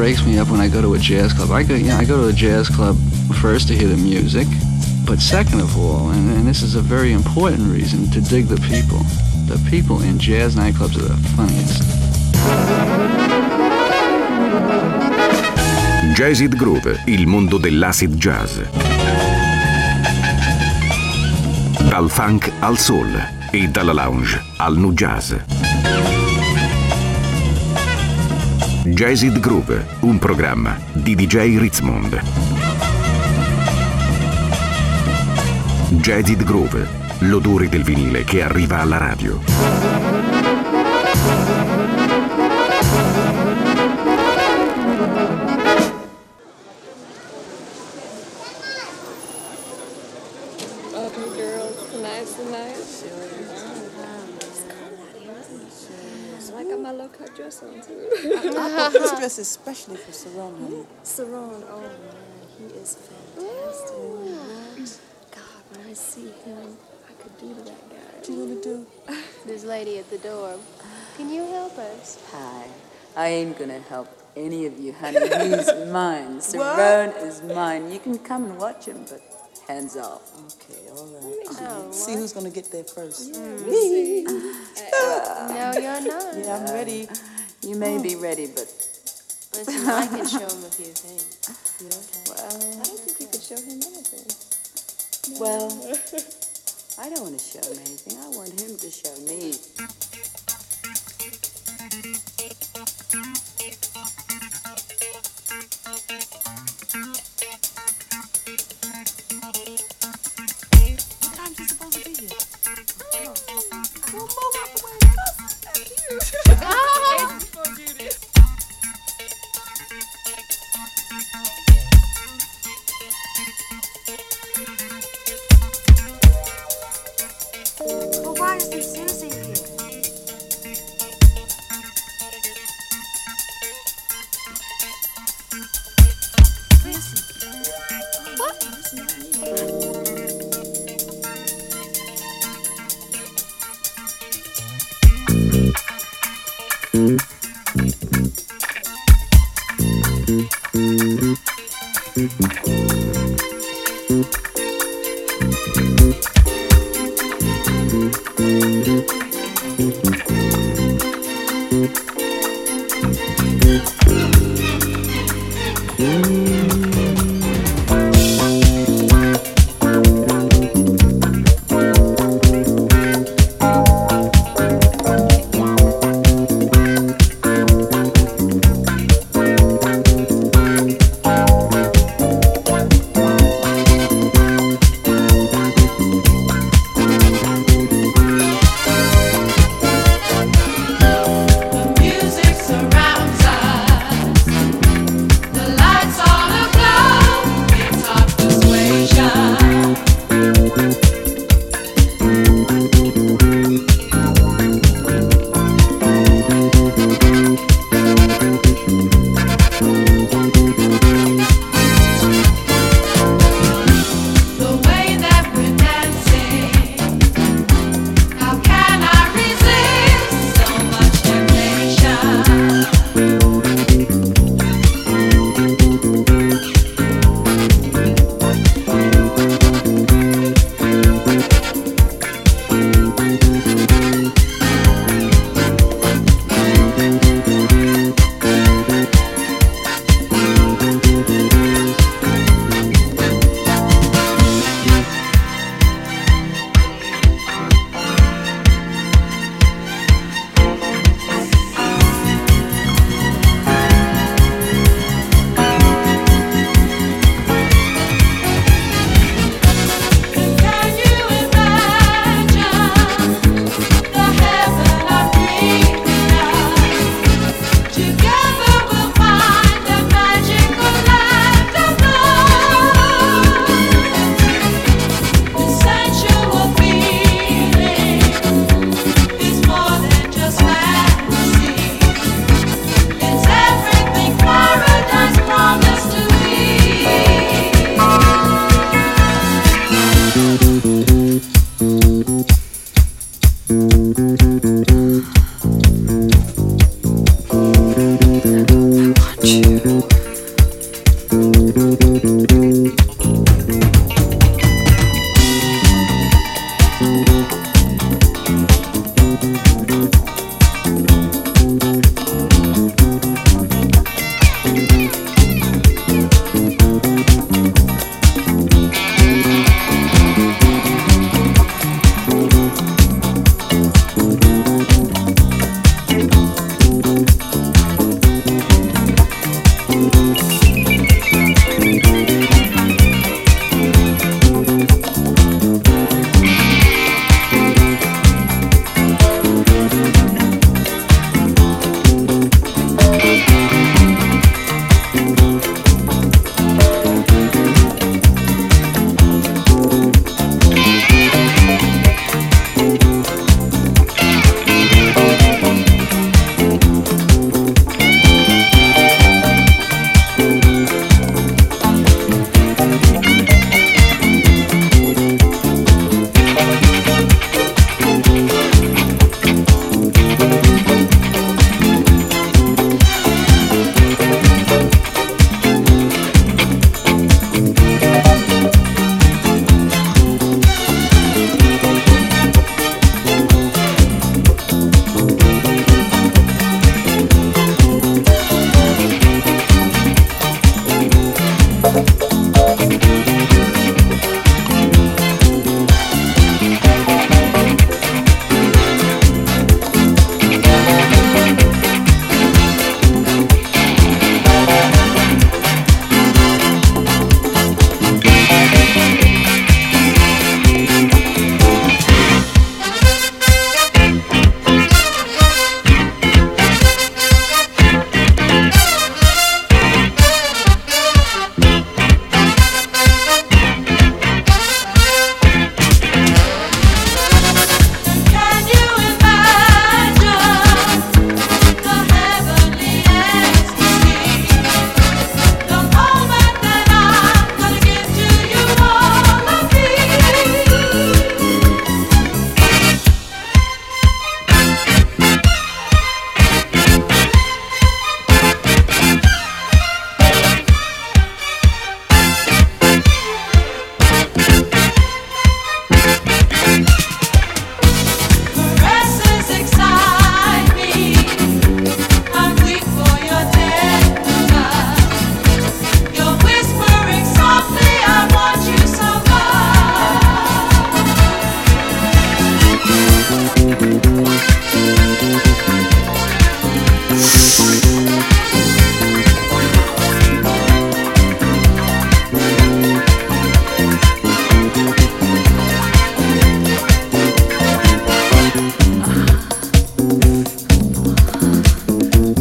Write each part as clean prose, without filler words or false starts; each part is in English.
breaks me up when I go to a jazz club. I go to a jazz club first to hear the music, but second of all, and this is a very important reason, to dig the people. The people in jazz nightclubs are the funniest. Jazzid Groove, il mondo dell'acid jazz. Dal funk al soul e dalla lounge al nu jazz. Jazzid Groove, un programma di DJ Ritzmond. Jazzid Groove, l'odore del vinile che arriva alla radio. Dress on too. I bought this dress especially for Saron, honey. Saron, oh man, he is fantastic. God, when I see him, I could do to that guy. What you gonna do? This lady at the door. Can you help us? Hi. I ain't gonna help any of you, honey. He's mine. Saron is mine. You can come and watch him, but hands off. Okay, all right. See who's gonna get there first. Me. No, you're not. Yeah, I'm ready. You may be ready, but... Listen, I can show him a few things. Yeah. Well, I don't think you could show him anything. Well, I don't want to show him anything. I want him to show me. What time is he supposed to be here? Well, move out the way. But why isn't Susie here?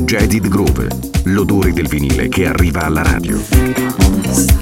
Jaded Groove, l'odore del vinile che arriva alla radio.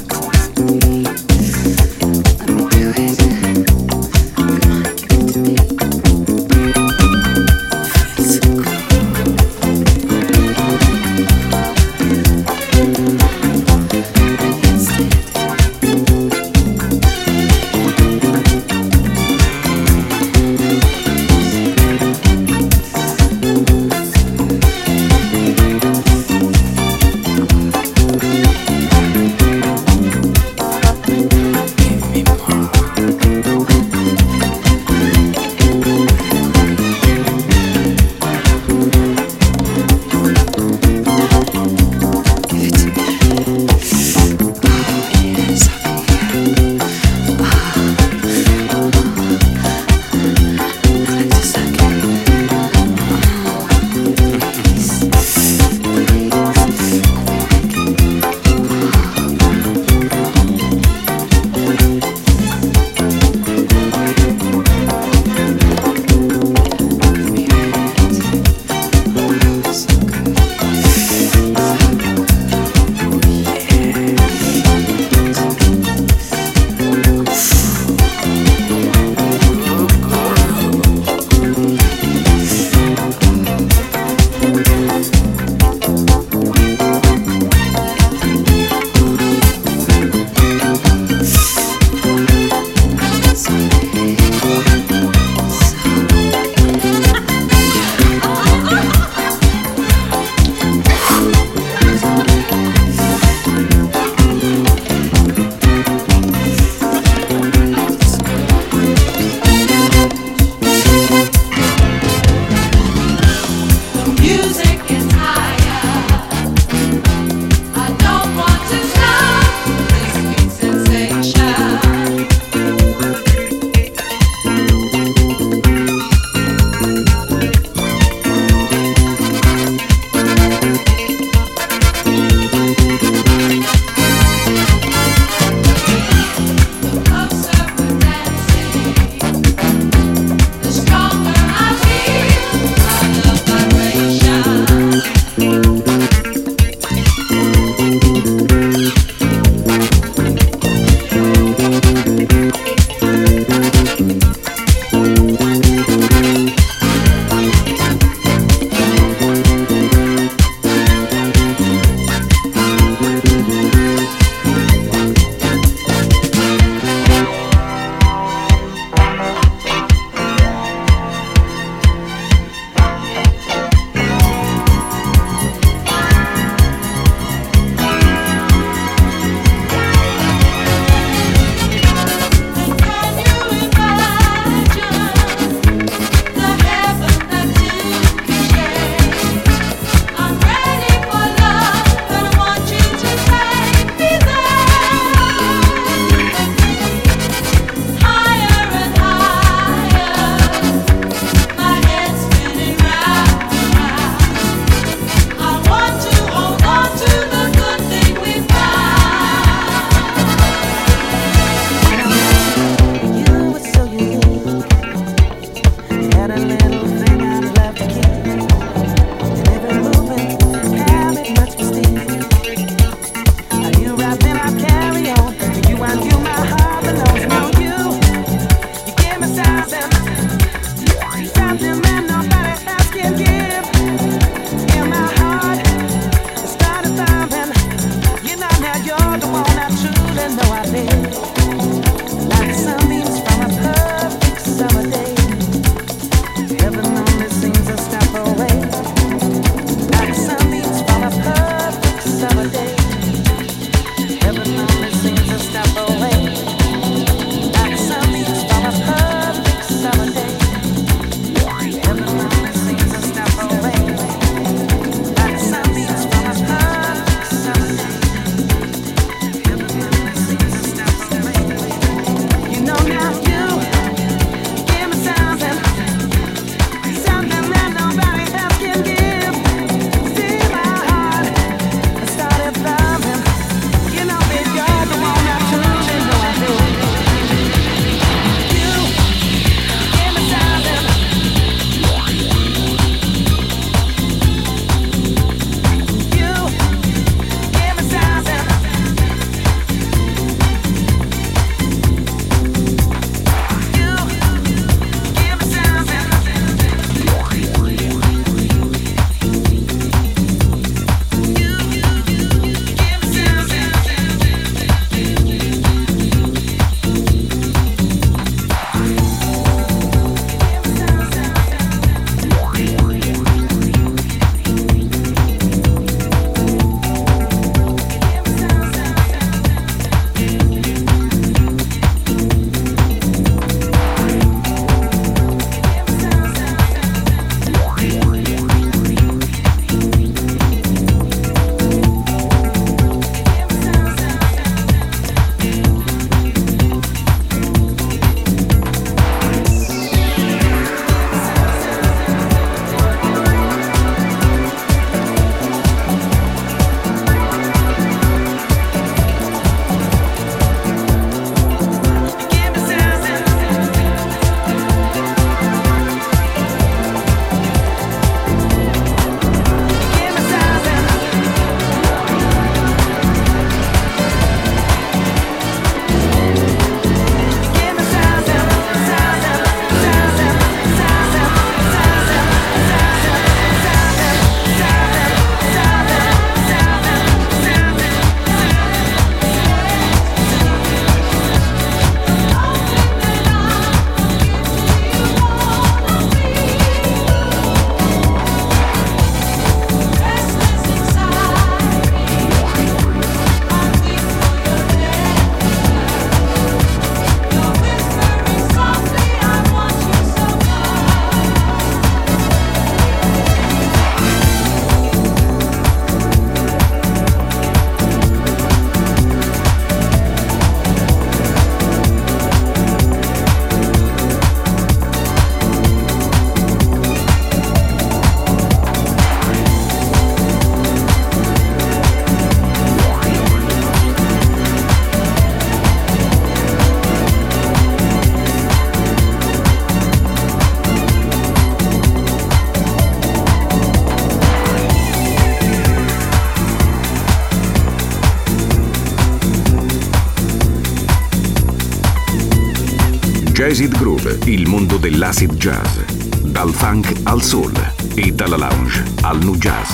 Jazz It Groove, il mondo dell'acid jazz. Dal funk al soul e dalla lounge al nu jazz.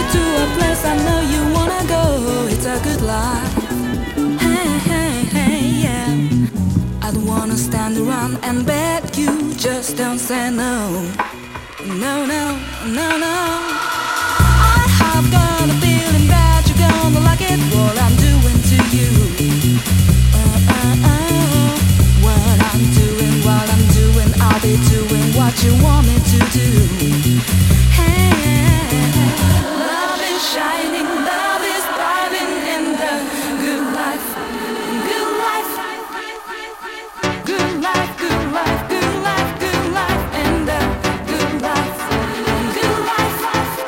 to a place I know you wanna go. It's a good life. Hey, hey, hey, yeah. I don't wanna stand around and beg you. Just don't say no. No, no, no, no. I have got a feeling that you're gonna like it. What I'm doing to you. What I'm doing, I'll be doing what you want me to do. Hey, love is shining, love is thriving in the good life, good life, good life, good life, good life, good life, in the good life, good life.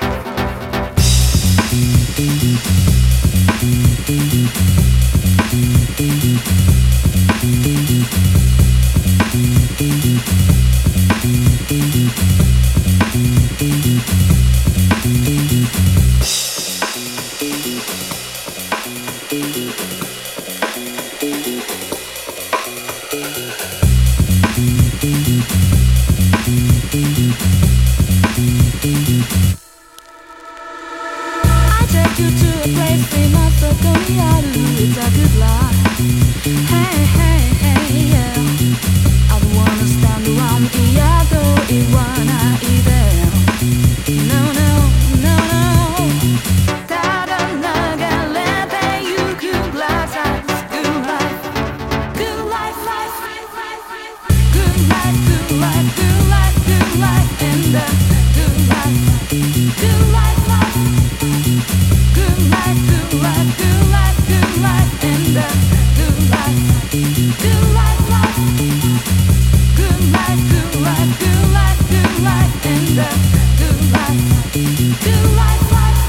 I take you to a place famous for Korearu. It's a good life. Hey, hey, hey, yeah. I don't wanna stand around Iago, Iwana, Idel. No, no, no, no. Tada naga lete you good life, good life, good life, life, good life, good life, good life, good life, and the good life, good life, life. Good life, good life, good life, good life, and the good life, good life, life. Good life, good life, good life, good life, and the good life, good life, life.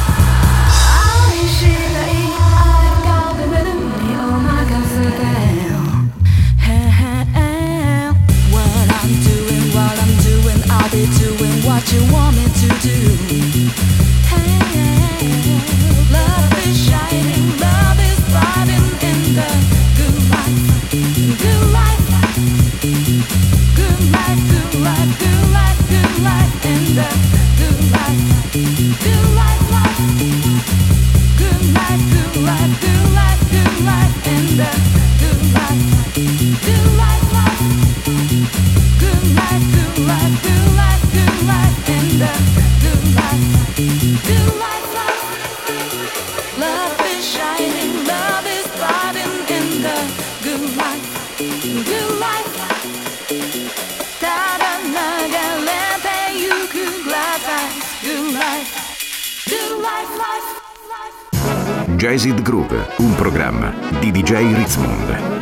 I should I've got the rhythm, oh my God, so damn. What I'm doing, I'll be doing what you want me to do. Love is shining, love is thriving in the good life, good life, good life, good life, good life, good life, in the good life, good life, life, good life, good life, good life, good life, in the good life, good life, life, good life, good life, good life, good life, in the good life, good life, life. Love is shining, love is thriving in the good life, good life. Tada naga lete you good life, good life, good life, life, life. Jazzed Groove, un programma di DJ Ritzmond.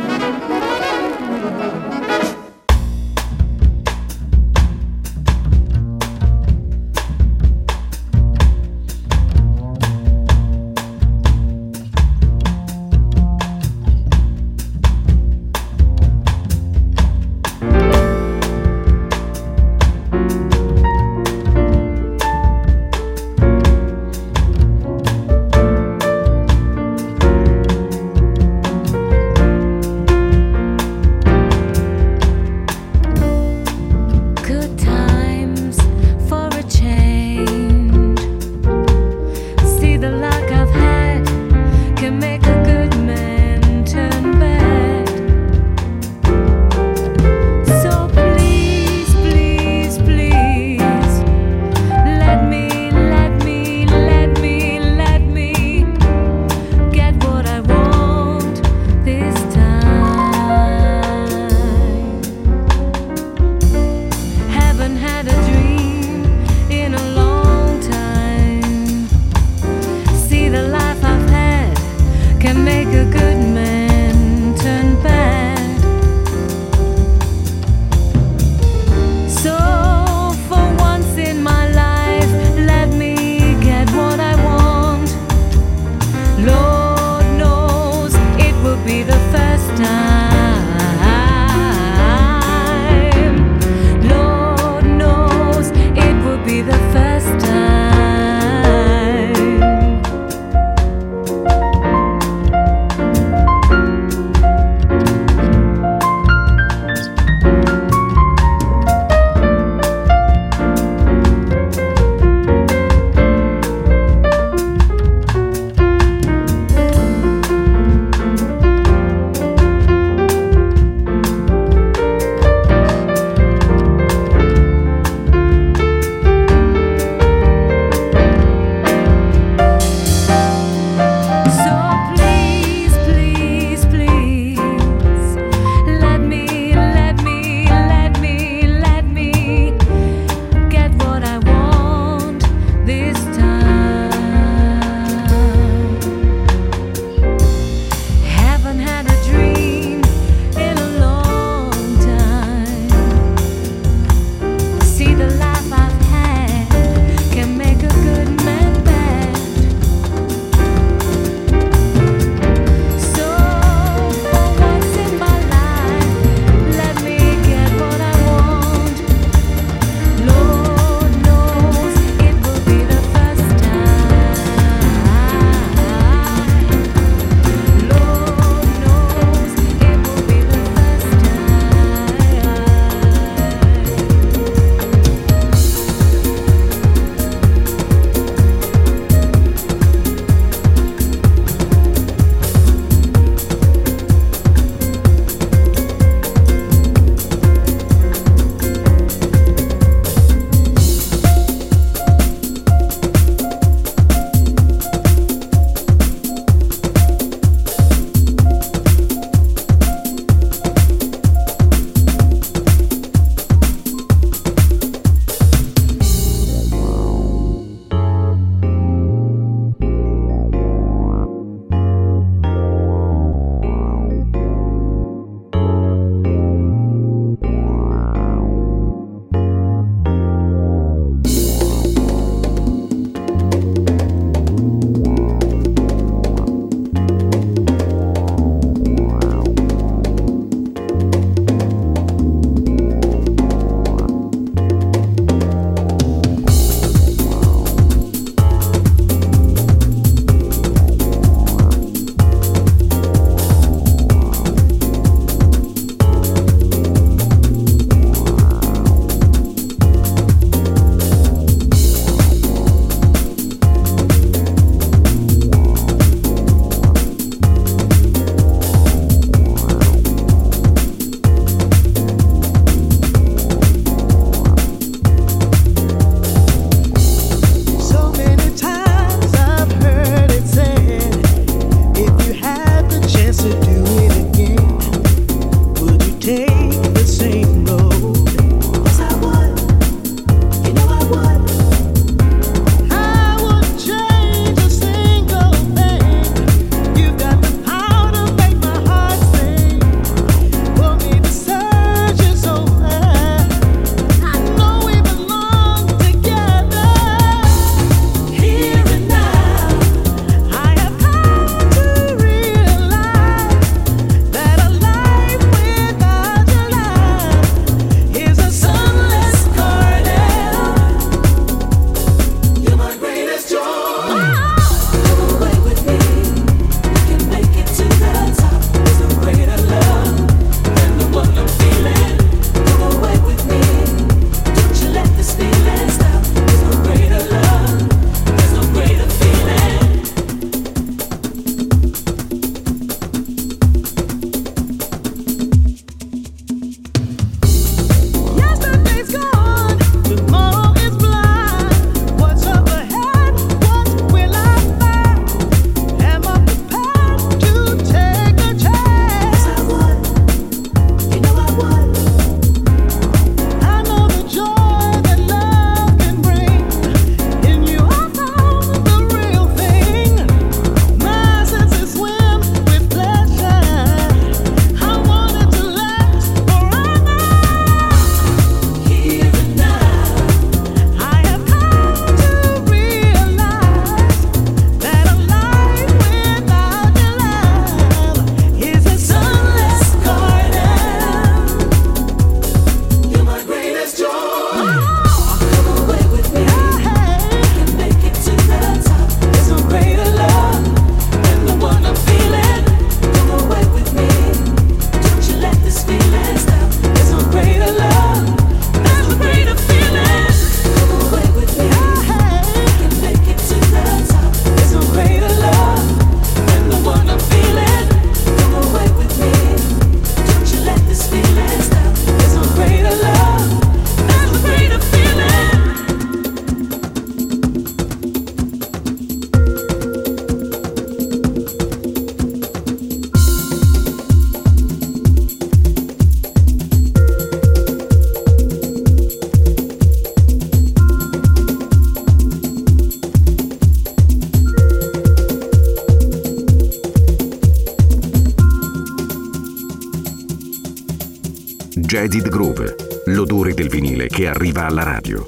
Jazzed Groove, l'odore del vinile che arriva alla radio.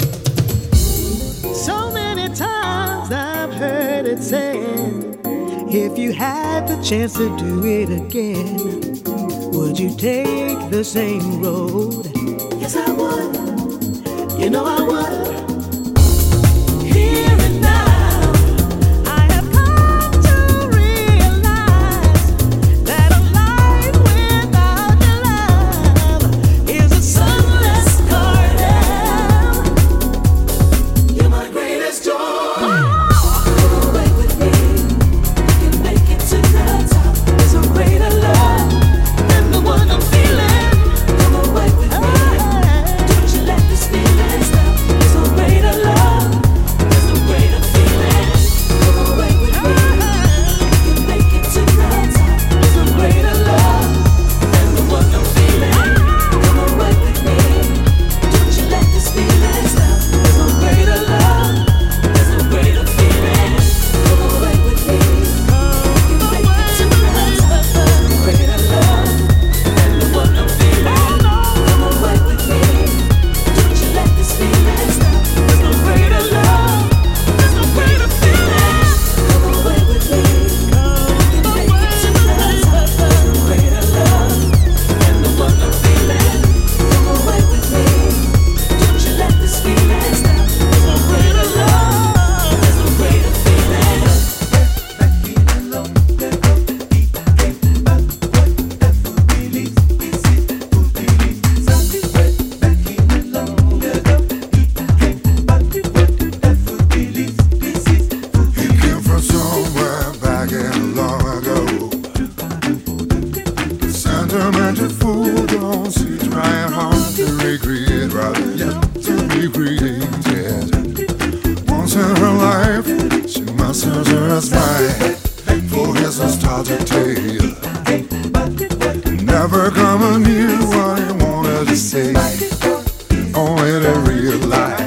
So many times I've heard it said, if you had the chance to do it again, would you take the same road? Yes, I would. You know I would. Here and now, I have come to realize that a life without your love is a sunless garden. You're my greatest joy. Come away with me, we can make it to the top. There's a greater love than the one I'm feeling. Come away with me, don't you let this feeling stop. There's a greater love, there's a greater feeling. Come away with me, we can make it to the top. There's a greater love than the one I'm feeling. Come away with me, don't you let this feeling stop. There's a greater love, there's a greater feeling. Come away with me, we can make it to the top. Greater love than the one I'm feeling. Come away with me, don't you let this feeling stop. There's no greater love, there's no greater feeling. Come away with me, we can make it to the top. Greater love than the one I'm feeling. Come away with me, don't you let this feeling stop. There's no greater love, there's no greater feeling. Came from somewhere back in long ago. Sentimental fool don't see trying hard to recreate, rather yet to be created. Once in her life, she masters her smile for his nostalgic tale. Never coming near what he wanted to say, only to realize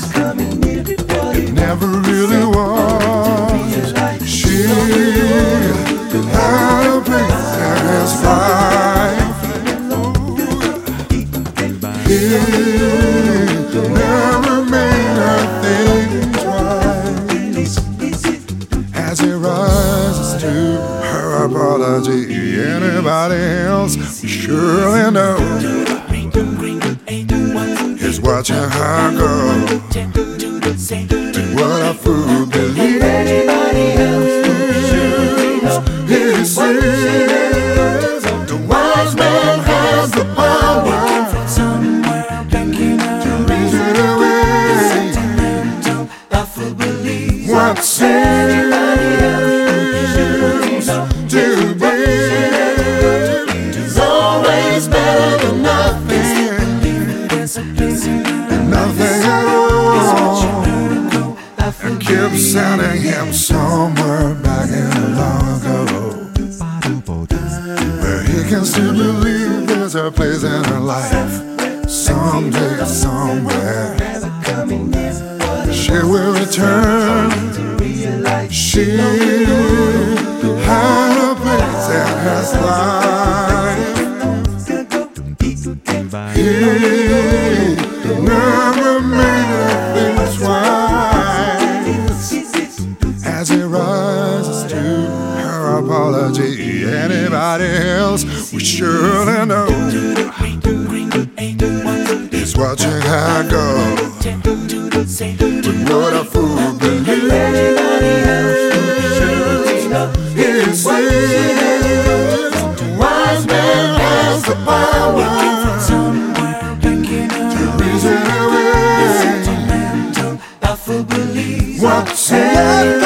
it never really was. She had a place in his life. He never made her think twice. As he rises to her apology, anybody else would surely know he's watching her go. What a fool believes. He says the wise man has the power to reason away what seems to be is always better than nothing, and nothing at all. And keep sending him somewhere back in long ago, where he can still believe there's a place in her life. Someday, somewhere, she will return. She had a place in his life. He never made her think twice. As he rises to her apology, anybody else would surely know he's watching her go. But what a fool believes. He says the wise man has the power to reason away what seems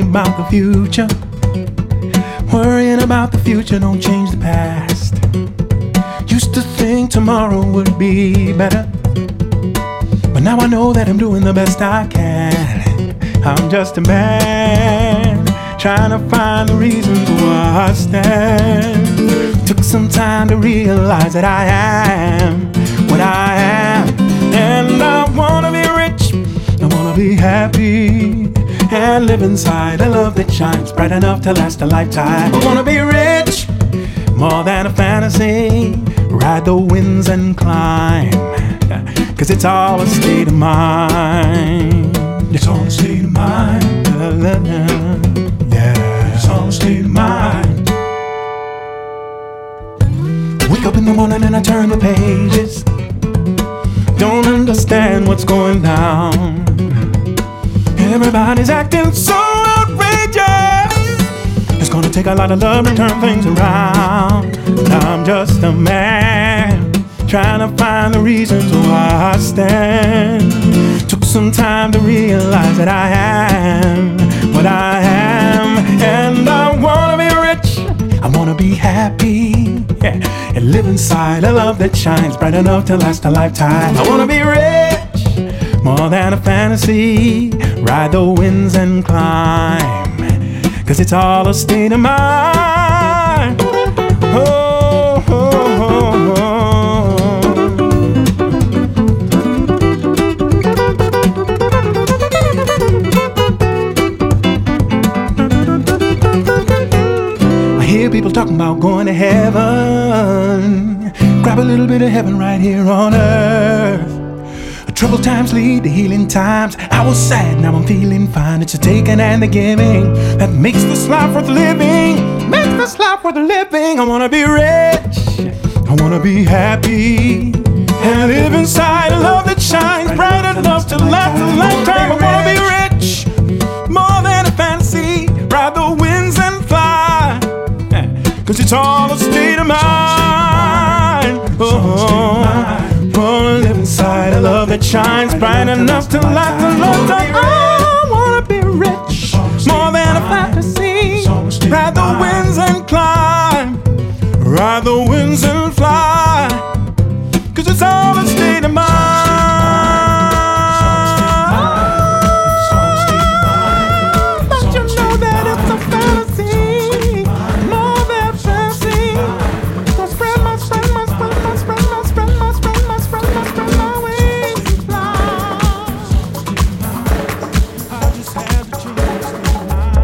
about the future. Worrying about the future don't change the past. Used to think tomorrow would be better, but now I know that I'm doing the best I can. I'm just a man trying to find the reasons why I stand. Took some time to realize that I am what I am, and I wanna be rich, I wanna be happy, and live inside a love that shines bright enough to last a lifetime. I wanna be rich, more than a fantasy, ride the winds and climb, 'cause it's all a state of mind. It's all a state of mind. Yeah, it's all a state of mind. Wake up in the morning and I turn the pages. Don't understand what's going down. Everybody's acting so outrageous. It's gonna take a lot of love to turn things around. I'm just a man trying to find the reasons why I stand. Took some time to realize that I am what I am, and I wanna be rich, I wanna be happy, yeah, and live inside a love that shines bright enough to last a lifetime. I wanna be rich, more than a fantasy, ride the winds and climb, 'cause it's all a state of mind. Oh, oh, oh, oh. I hear people talking about going to heaven. Grab a little bit of heaven right here on earth. Troubled times lead to healing times. I was sad, now I'm feeling fine. It's the taking and the giving that makes this life worth living. Makes this life worth living. I wanna be rich, I wanna be happy, and live inside a love that shines bright enough to last a lifetime. I wanna be rich, more than a fantasy, ride the winds and fly, 'cause it's all a state of mind. Oh, wanna live inside a love that shines bright enough to last a lifetime. I wanna be rich, more than a fantasy, ride the winds and climb, ride the winds and fly, 'cause it's all a state of mind. But you know that it's a fantasy, more than fantasy. So spread my wings and fly. I just have to change my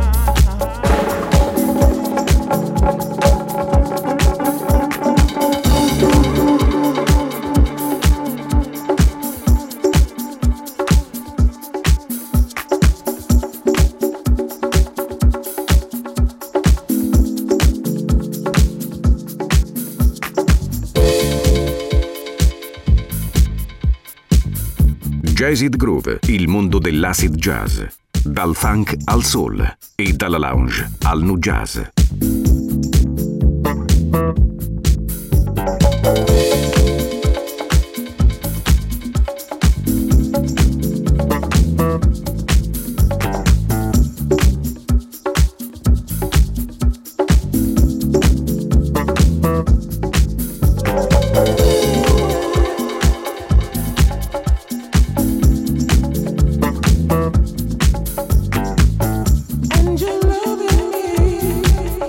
Jazz It Groove, il mondo dell'acid jazz. Dal funk al soul e dalla lounge al nu jazz. And you're loving me.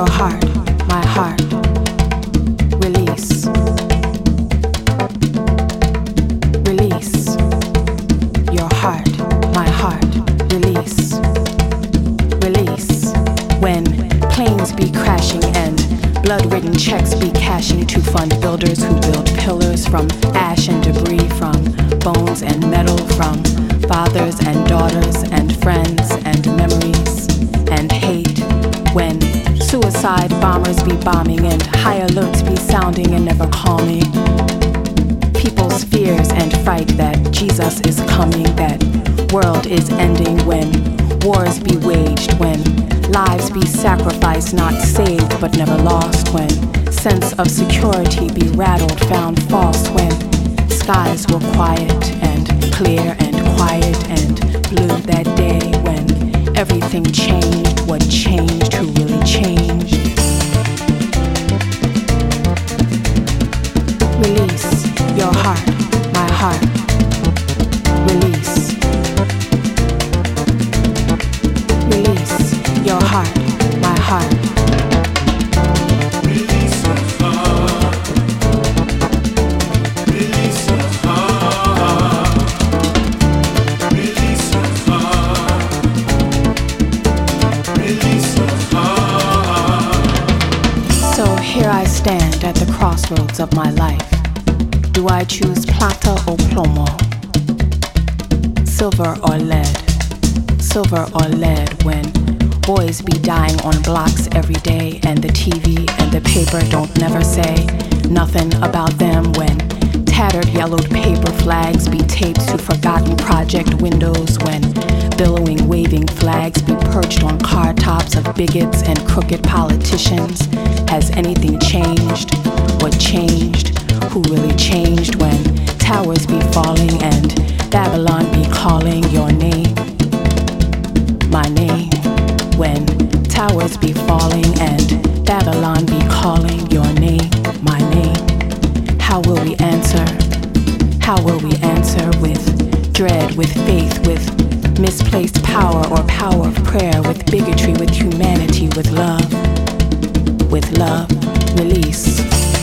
your heart, my heart. Release. Release. Your heart, my heart. Release. Release. When planes be crashing and blood-ridden checks be cashing to fund builders who build pillars from ash and debris, from bones and metal, from fathers and daughters and friends and memories and hate. When suicide bombers be bombing and high alerts be sounding and never calming. People's fears and fright that Jesus is coming, that world is ending. When wars be waged, when lives be sacrificed, not saved but never lost. When sense of security be rattled, found false. When skies were quiet and clear and quiet and blue that day. When everything changed, what changed, who really changed. Release your heart, my heart. Release. Release your heart, my heart. Release your heart. Release your heart. Release your heart. Release your heart. So here I stand at the crossroads of my life. Do I choose plata or plomo? Silver or lead? Silver or lead when boys be dying on blocks every day and the TV and the paper don't never say nothing about them. When tattered yellowed paper flags be taped to forgotten project windows. When billowing waving flags be perched on car tops of bigots and crooked politicians. Has anything changed? What changed? Who really changed? When towers be falling and Babylon be calling your name, my name. When towers be falling and Babylon be calling your name, my name. How will we answer? How will we answer? With dread, with faith, with misplaced power or power of prayer, with bigotry, with humanity, with love. With love, release.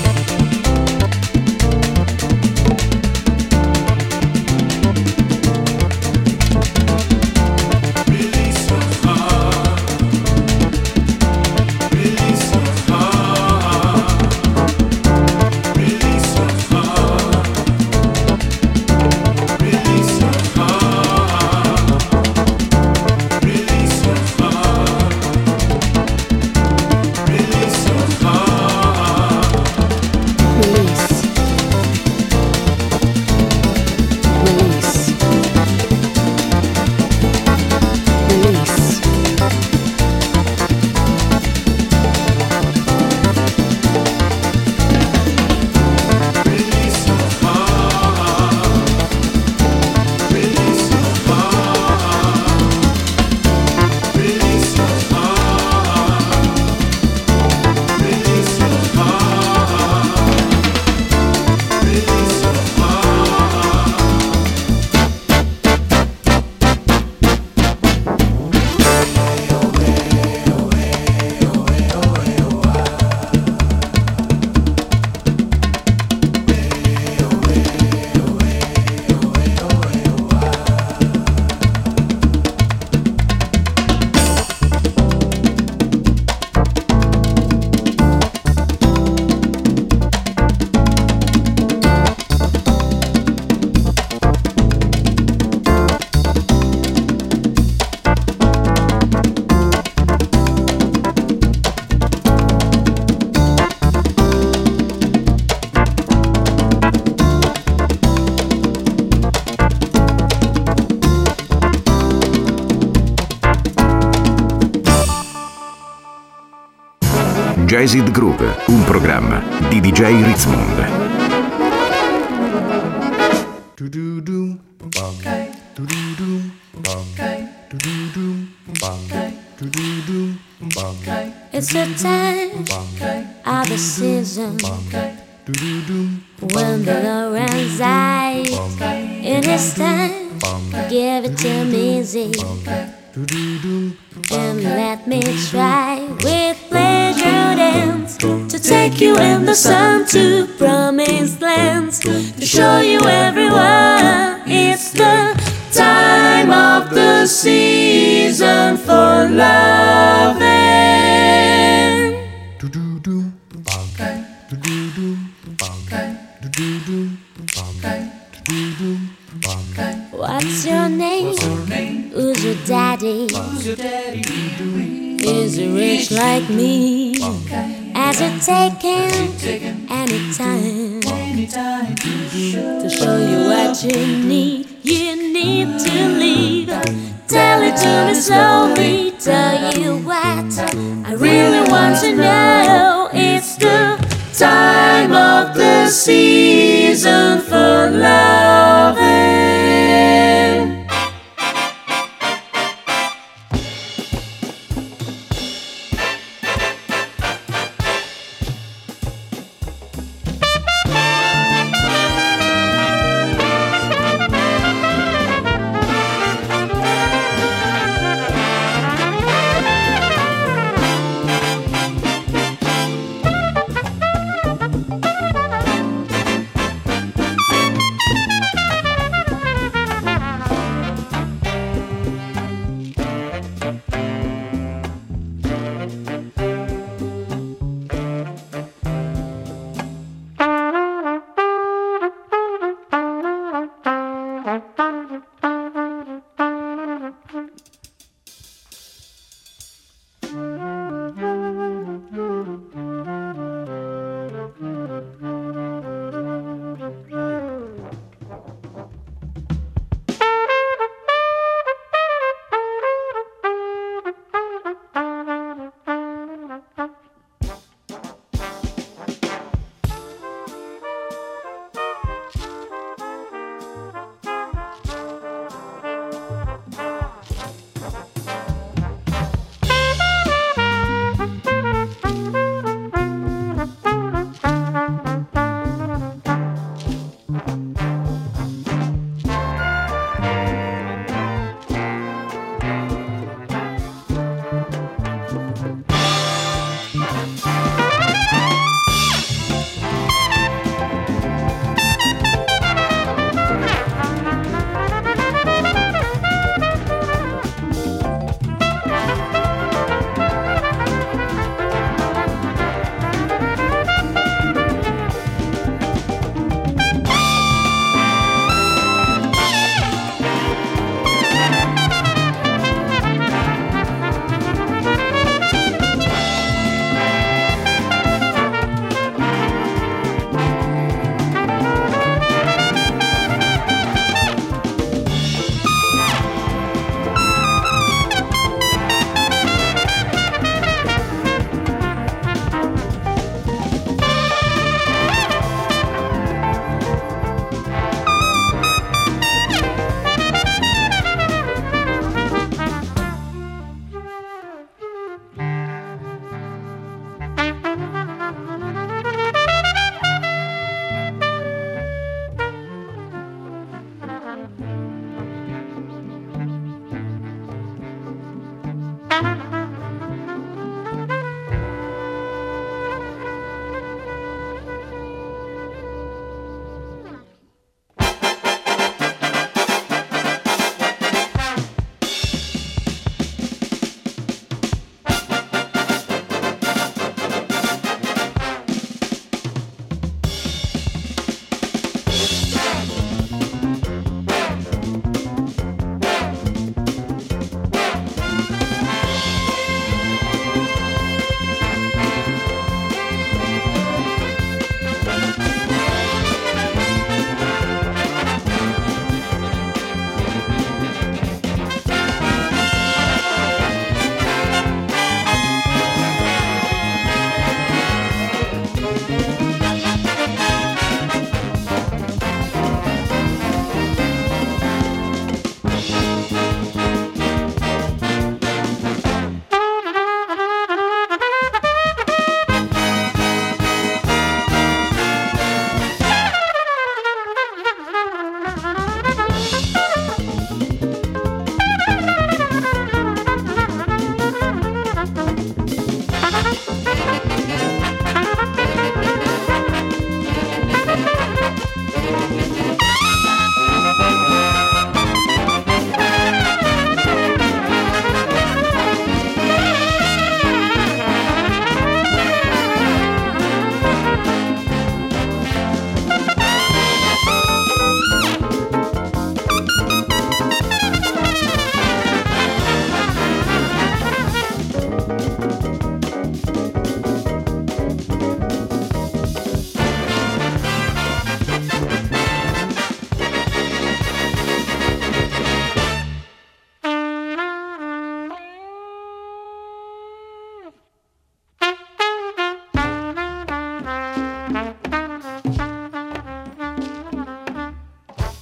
Jazzed Groove, un programma di DJ Ritzmond. It's a time of the season when the Lord runs out. It is time, give it to me easy and let me try with pleasure. bands to take you in the sun to promised lands, to show you everywhere. It's the time of the season for loving. What's your name? Who's your daddy? Is he rich like me? Has it taken any time to show you what you need? You need to leave. Tell it to me slowly. Tell you what I really want to know. It's the time of the season for loving.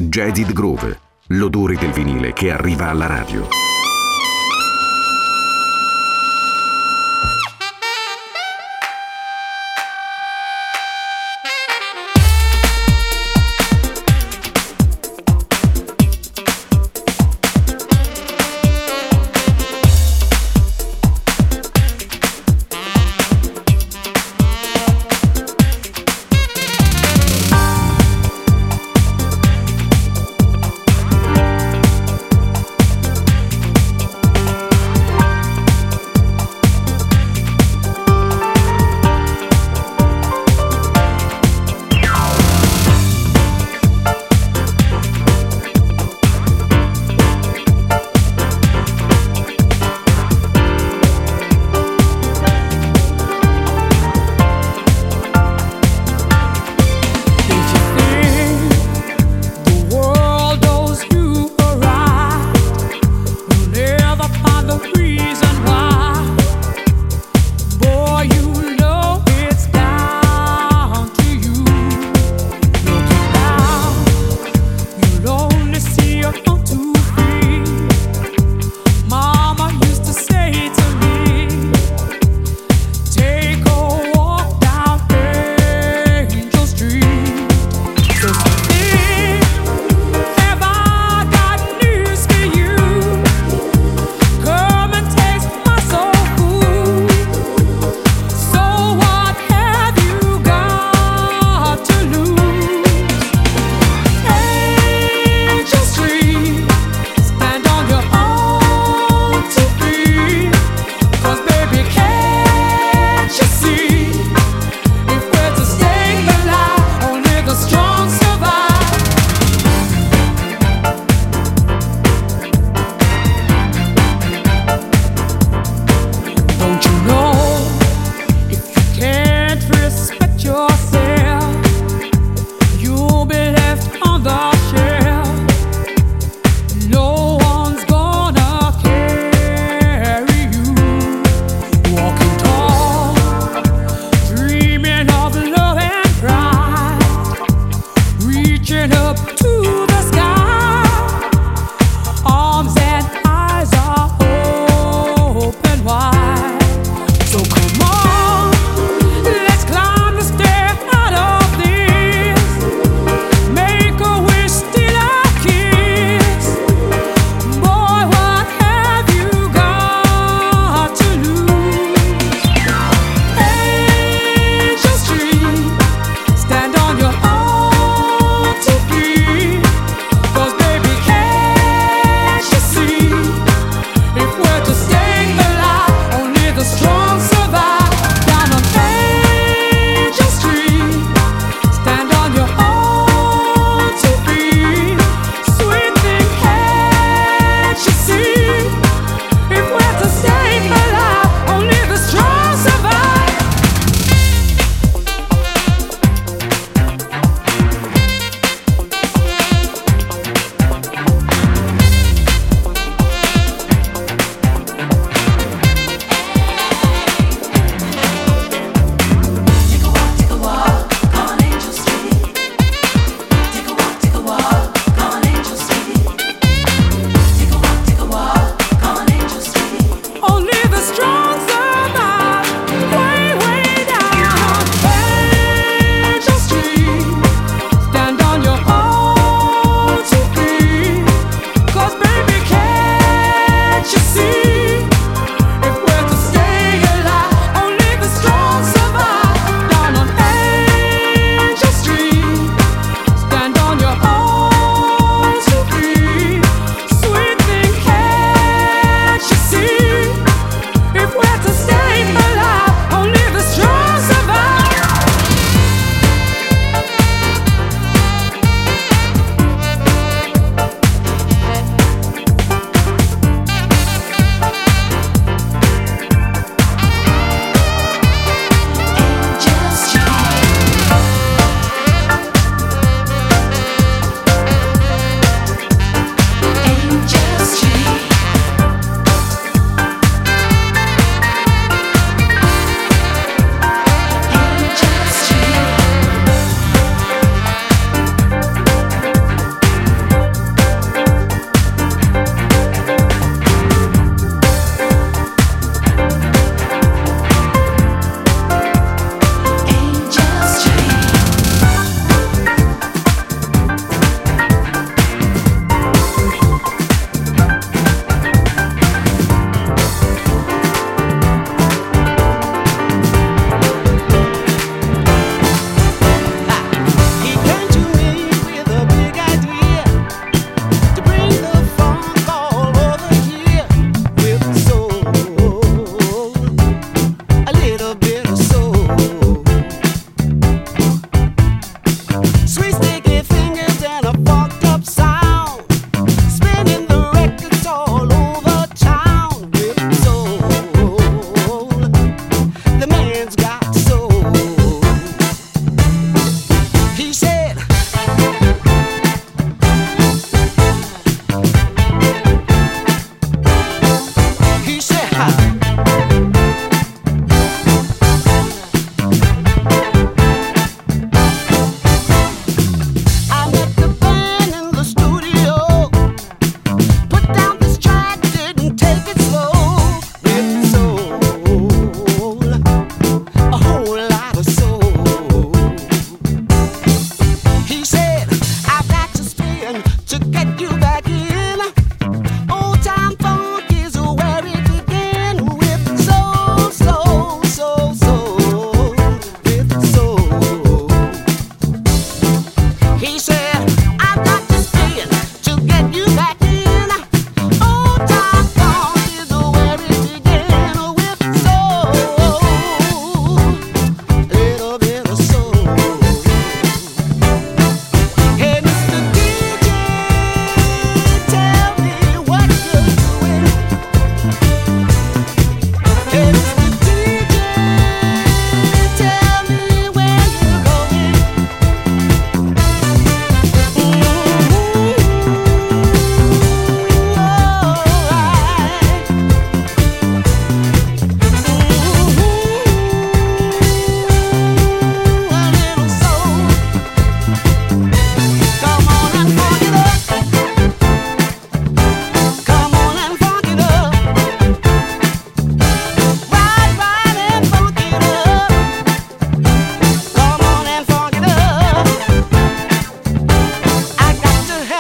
Jaded Groove, l'odore del vinile che arriva alla radio.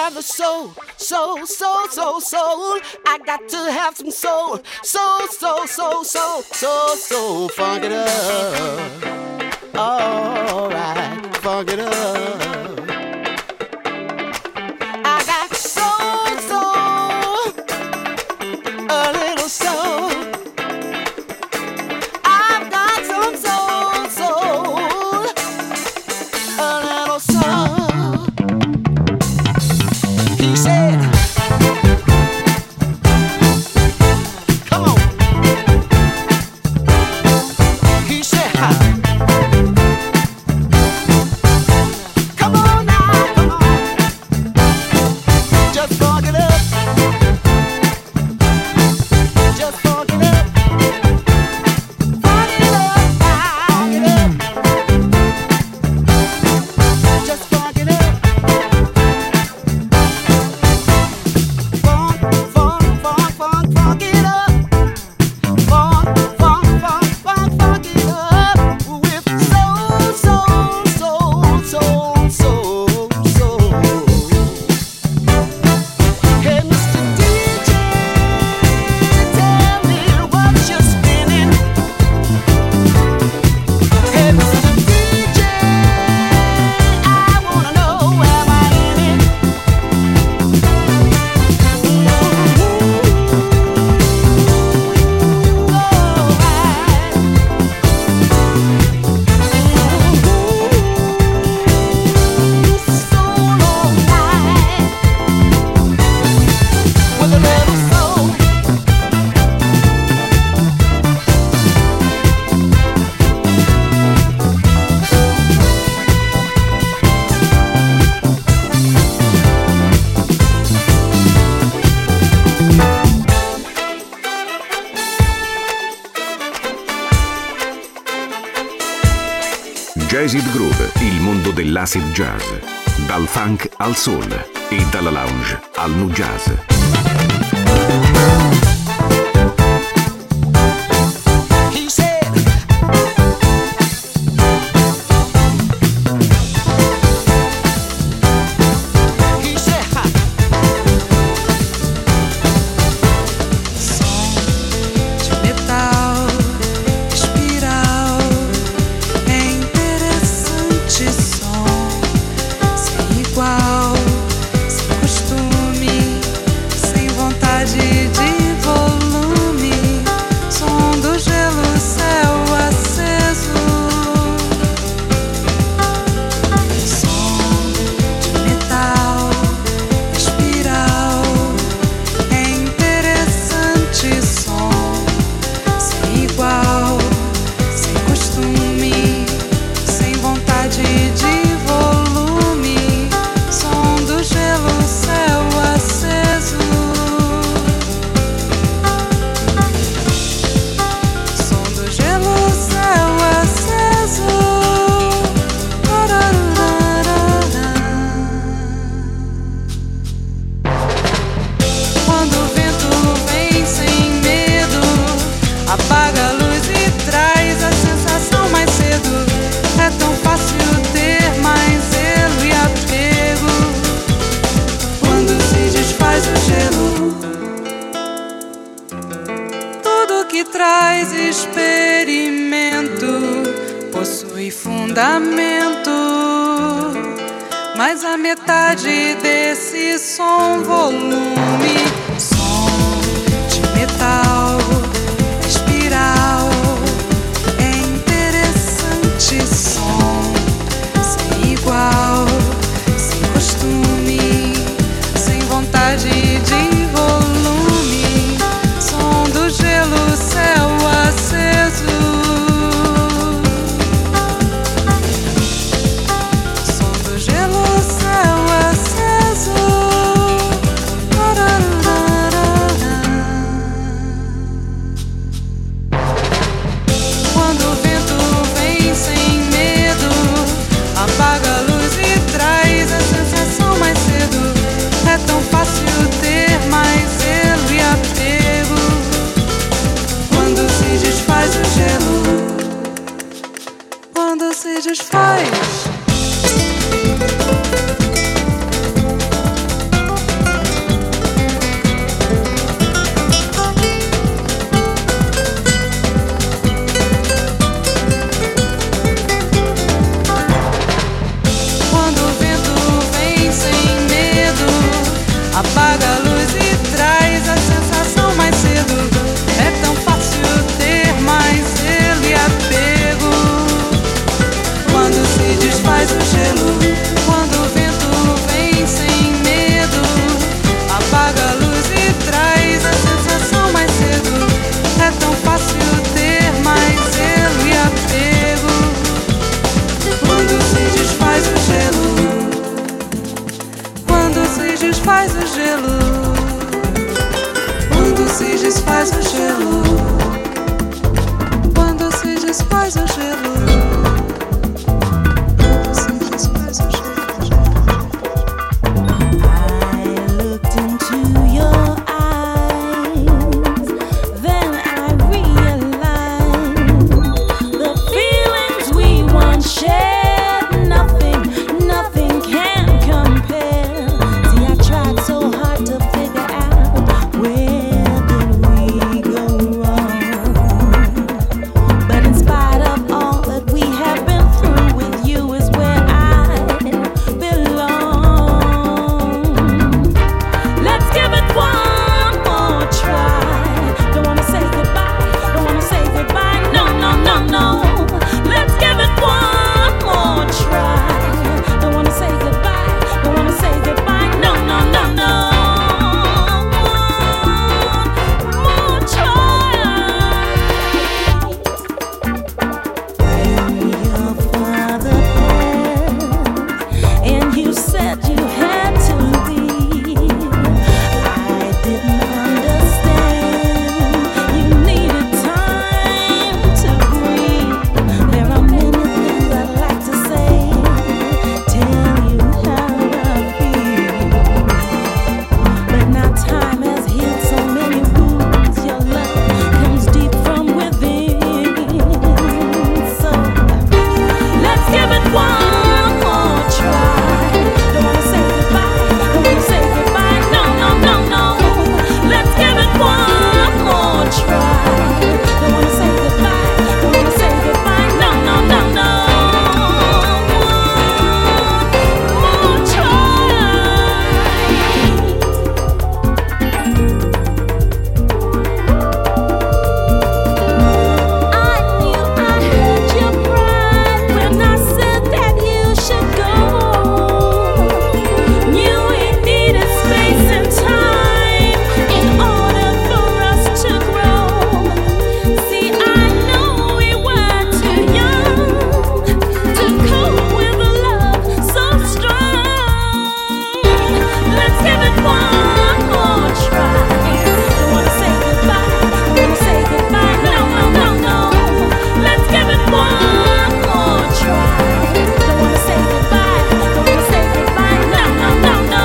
have the soul, soul, soul, soul, soul. I got to have some soul, soul, soul, soul, soul, soul, soul. Funk it up. All right, funk it up. I got soul, soul, a little soul. I've got some soul, soul, a little soul. He said, come on. He said, come on now, come on. Just funk it up. Just funk it up. Funk it up, funk it up. Just funk it up. Funk, funk, funk, funk, funk it up. Funk, funk, funk, funk, funk it up. With soul, soul, soul, soul, soul, soul. Hey, Mr. DJ, tell me what you're spinning. Hey, Mr. DJ, I wanna know, am I in it? With a little soul. Jazz It Groove, il mondo dell'acid jazz. Dal funk al soul e dalla lounge al nu jazz. He said, he said, De metal, espiral, é interessante som, sem igual, sem costume, sem vontade de volume, som do gelo, céu aceso, som de metal, espiral, é interessante som, sem igual, sem costume, sem vontade de volume, som do gelo, céu aceso, som do gelo, céu aceso. Quando o vento vem sem medo, apaga a luz e traz a sensação mais cedo. É tão fácil ter mais zelo e apego quando se desfaz o gelo. Tudo que traz experimento possui fundamento, mas a metade desse som, volume, som de metal, espiral, é interessante som, sem igual, sem costume, sem vontade de volume, som do gelo, céu aceso. Som do gelo, céu aceso. desfaz o gelo, quando se desfaz o gelo, quando se desfaz o gelo, quando se desfaz o gelo. I looked into your eyes, then I realized the feelings we once shared, nothing can compare. See, I tried so hard to figure out where did we go wrong. But in spite of all that we have been through, with you is where I belong. Let's give it one more try. Don't wanna say goodbye, don't wanna say goodbye, no, no, no, no. Let's give it one more try. Don't wanna say goodbye, don't wanna say goodbye, no, no, no, no. One more try. When your father passed and you said you had to leave, I didn't understand. You needed time to breathe. There are many things I'd like to say, tell you how I feel, but now time has healed so many wounds. Your love comes deep from within. So let's give it one more try. Don't wanna say goodbye, don't wanna say goodbye, no, no, no, no. Let's give it one more try. Don't wanna say goodbye, don't wanna say goodbye, no, no, no, no. One more try. I knew I hurt your pride when I said that you should go. Knew we needed space and time in order for us to grow. See, I know we were too young to cope with a love so strong. Let's give it one more try. Don't wanna say goodbye, don't wanna say goodbye, no, no, no, no. Let's give it one more try. Don't wanna say goodbye, don't wanna say goodbye, no, no, no, no.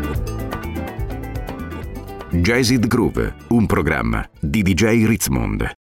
Jazzed Groove, un programma di DJ Ritzmond.